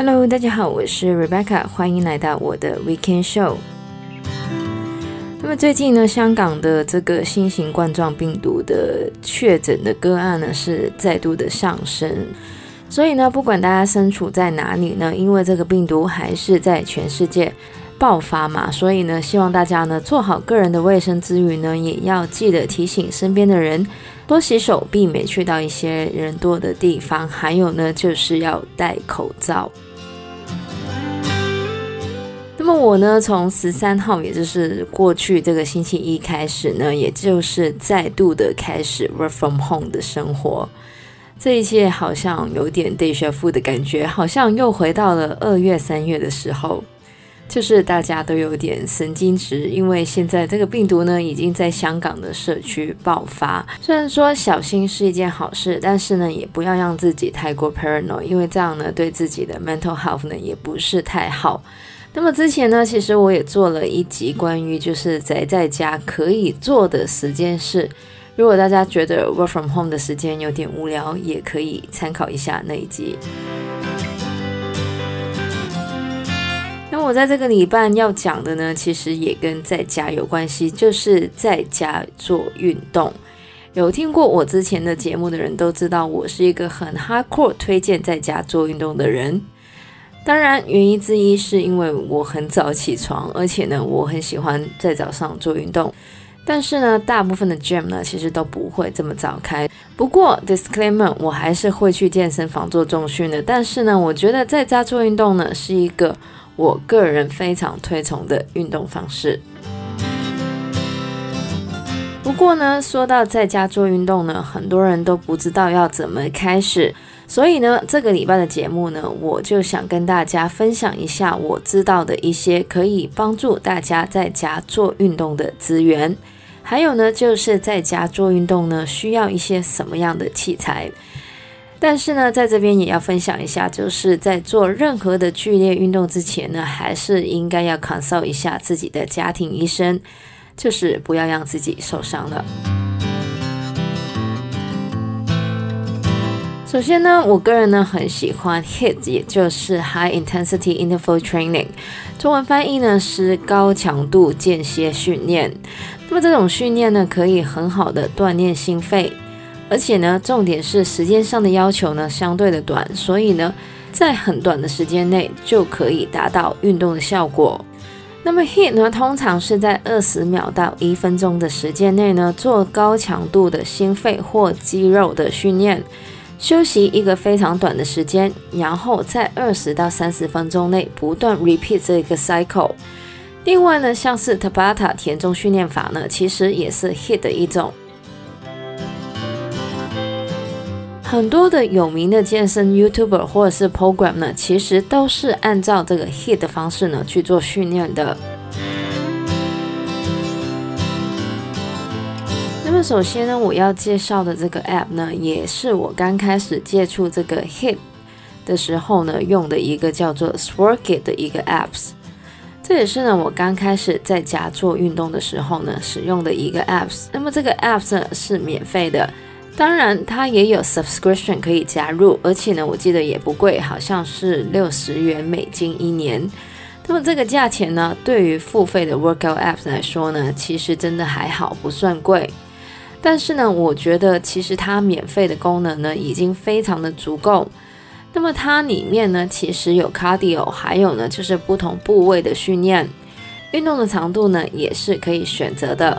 Hello， 大家好，我是 Rebecca， 歡迎來到我的 Weekend Show。那麼最近呢，香港的這個新型冠狀病毒的確診的個案呢是再度的上升，所以呢，不管大家身處在哪裡呢，因為這個病毒還是在全世界爆發嘛，所以呢，希望大家呢做好個人的衛生之餘呢，也要記得提醒身邊的人多洗手，避免去到一些人多的地方，還有呢，就是要戴口罩。那麼我呢，從13號，也就是過去這個星期一開始呢，也就是再度的開始 work from home 的生活。這一切好像有點 déjà vu 的感覺，好像又回到了2月、3月的時候。就是大家都有點神經質，因為現在這個病毒呢已經在香港的社區爆發。雖然說小心是一件好事，但是呢也不要讓自己太過 paranoid， 因為這樣呢對自己的 mental health 呢也不是太好。那麼之前呢，其實我也做了一集關於就是宅在家可以做的10件事。如果大家覺得 work from home 的時間有點無聊，也可以參考一下那一集。那我在這個禮拜要講的呢，其實也跟在家有關係，就是在家做運動。有聽過我之前的節目的人都知道，我是一個很 hardcore 推薦在家做運動的人。當然，原因之一是因為我很早起床，而且呢，我很喜歡在早上做運動。但是呢，大部分的 gym 呢，其實都不會這麼早開。不過 disclaimer， 我還是會去健身房做重訓的。但是呢，我覺得在家做運動呢，是一個我個人非常推崇的運動方式。不過呢，說到在家做運動呢，很多人都不知道要怎麼開始。所以呢，這個禮拜的節目呢，我就想跟大家分享一下我知道的一些可以幫助大家在家做運動的資源。還有呢，就是在家做運動呢，需要一些什麼樣的器材。但是呢，在這邊也要分享一下，就是在做任何的劇烈運動之前呢，還是應該要 consult 一下自己的家庭醫生，就是不要讓自己受傷了。首先呢，我個人呢很喜歡 HIIT， 也就是 High Intensity Interval Training， 中文翻譯呢是高強度間歇訓練。那麼這種訓練呢，可以很好的鍛鍊心肺，而且呢，重點是時間上的要求呢相對的短，所以呢，在很短的時間內就可以達到運動的效果。那麼 HIIT 呢，通常是在20秒到1分鐘的時間內呢，做高強度的心肺或肌肉的訓練。休息一個非常短的時間，然後在20到30分鐘內不斷 repeat 這個 cycle。另外呢，像是 Tabata 田中訓練法呢，其實也是 HIIT 的一種。很多的有名的健身 YouTuber 或者是 program 呢，其實都是按照這個 HIIT 的方式呢去做訓練的。那麼首先呢，我要介紹的這個 app 呢，也是我剛開始接觸這個 HIIT 的時候呢，用的一個叫做 Sworkit 的一個 apps。這也是呢，我剛開始在家做運動的時候呢，使用的一個 apps。那麼這個 apps 呢是免費的，當然它也有 subscription 可以加入，而且呢，我記得也不貴，好像是$60一年。那麼這個價錢呢，對於付費的 workout apps 來說呢，其實真的還好，不算貴。但是呢，我覺得其實它免費的功能呢，已經非常的足夠。那麼它裡面呢，其實有 cardio， 還有呢，就是不同部位的訓練，運動的長度呢，也是可以選擇的。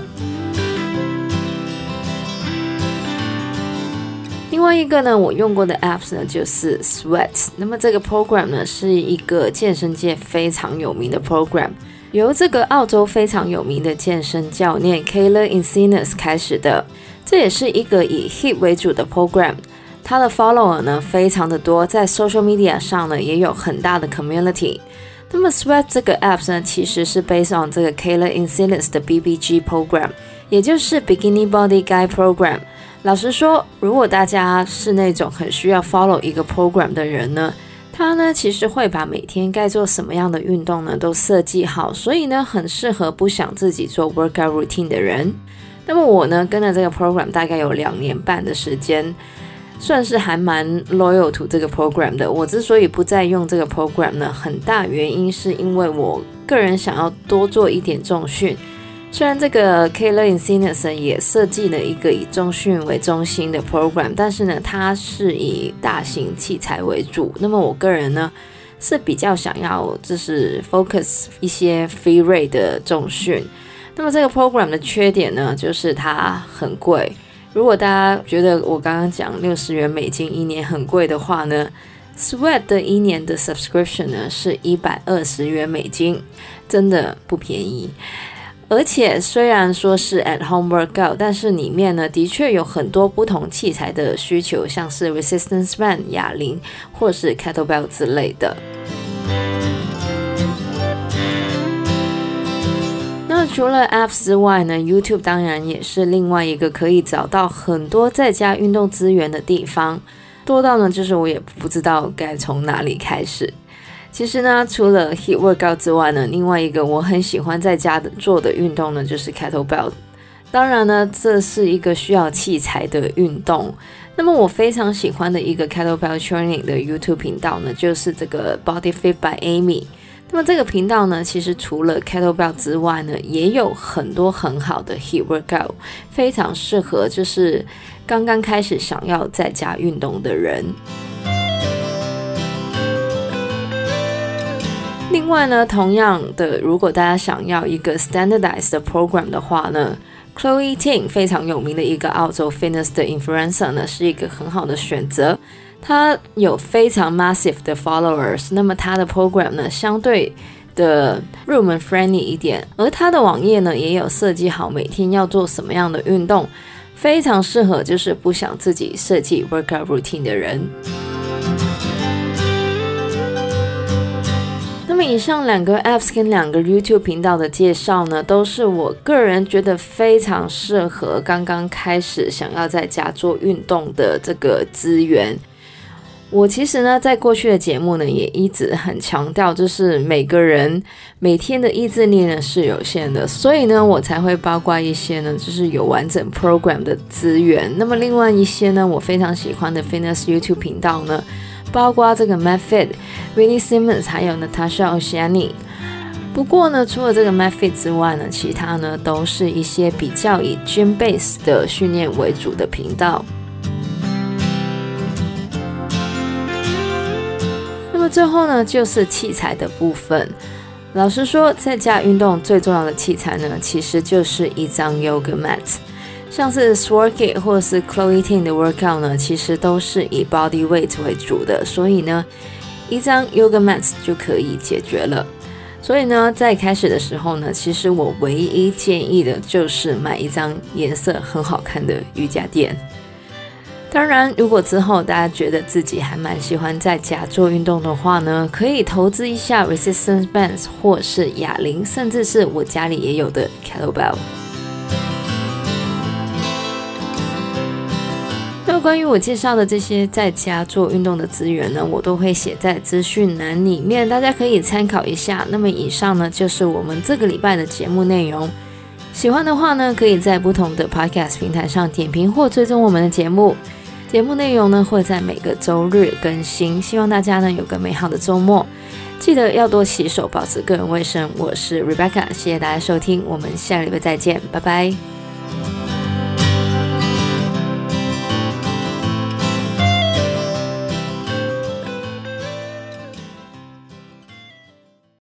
另外一個呢，我用過的 apps 呢，就是 Sweat。那麼這個 program 呢，是一個健身界非常有名的 program。由這個澳洲非常有名的健身教練 Kayla Itsines 開始的，這也是一個以 HIIT 為主的 program。他的 follower 呢非常的多，在 social media 上呢也有很大的 community。那麼 Sweat 這個 app 呢，其實是 based on 這個 Kayla Itsines 的 BBG program， 也就是 Beginning Body Guide Program。老實說，如果大家是那種很需要 follow 一個 program 的人呢，他呢其實會把每天該做什麼樣的運動呢都設計好，所以呢很適合不想自己做 workout routine 的人。那麼我呢跟了這個 program 大概有2年半的時間， 算是還蠻 loyal to 這個 program 的。我之所以不再用這個 program 呢，很大原因是因為我個人想要多做一點重訓。雖然這個 K-Learning Fitness 也設計了一個以重訓為中心的 program， 但是呢，它是以大型器材為主。那麼我個人呢，是比較想要就是 focus 一些 free rate 的重訓。那麼這個 program 的缺點呢，就是它很貴。如果大家覺得我剛剛講60元美金一年很貴的話呢， Sweat 的一年的 subscription 呢是120元美金，真的不便宜。而且雖然說是 at home workout， 但是裡面呢的確有很多不同器材的需求，像是 resistance band 啞鈴或是 kettlebell 之類的。那除了 apps 之外呢， YouTube 當然也是另外一個可以找到很多在家運動資源的地方，多到呢就是我也不知道該從哪裡開始。其實呢，除了 HIIT workout 之外呢，另外一個我很喜歡在家做的運動呢，就是 kettlebell。當然呢，這是一個需要器材的運動。那麼我非常喜歡的一個 kettlebell training 的 YouTube 頻道呢，就是這個 Body Fit by Amy。那麼這個頻道呢，其實除了 kettlebell 之外呢，也有很多很好的 HIIT workout， 非常適合就是剛剛開始想要在家運動的人。另外呢，同樣的，如果大家想要一個 standardized 的 program 的話呢， Chloe Ting 非常有名的一個澳洲 fitness 的 influencer 呢，是一個很好的選擇。他有非常 massive 的 followers， 那麼他的 program 呢，相對的入門 friendly 一點，而他的網頁呢，也有設計好每天要做什麼樣的運動，非常適合就是不想自己設計 workout routine 的人。那麼以上2個 apps 跟2個 YouTube 頻道的介紹呢，都是我個人覺得非常適合剛剛開始想要在家做運動的這個資源。我其實呢，在過去的節目呢，也一直很強調，就是每個人每天的意志力呢是有限的，所以呢，我才會包括一些呢，就是有完整 program 的資源。那麼另外一些呢，我非常喜歡的 fitness YouTube 頻道呢，包括這個 MadFit、Willie Simmons 還有 Natasha Oceani。不過呢，除了這個 MadFit 之外呢，其他呢都是一些比較以 gym base 的訓練為主的頻道。那麼最後呢，就是器材的部分。老實說，在家運動最重要的器材呢，其實就是一張 yoga mat。像是 Sworkit 或是 Chloe Ting 的 workout 呢，其實都是以 body weight 為主的，所以呢，一張 yoga mat 就可以解決了。所以呢，在開始的時候呢，其實我唯一建議的就是買一張顏色很好看的瑜伽墊。當然，如果之後大家覺得自己還蠻喜歡在家做運動的話呢，可以投資一下 resistance bands 或是啞鈴，甚至是我家裡也有的 kettlebell。那關於我介紹的這些在家做運動的資源呢，我都會寫在資訊欄裡面，大家可以參考一下。那麼以上呢，就是我們這個禮拜的節目內容。喜歡的話呢，可以在不同的 podcast 平台上點評或追蹤我們的節目。節目內容呢，會在每個週日更新。希望大家呢有個美好的週末，記得要多洗手，保持個人衛生。我是 Rebecca，謝謝大家收聽，我們下禮拜再見，拜拜。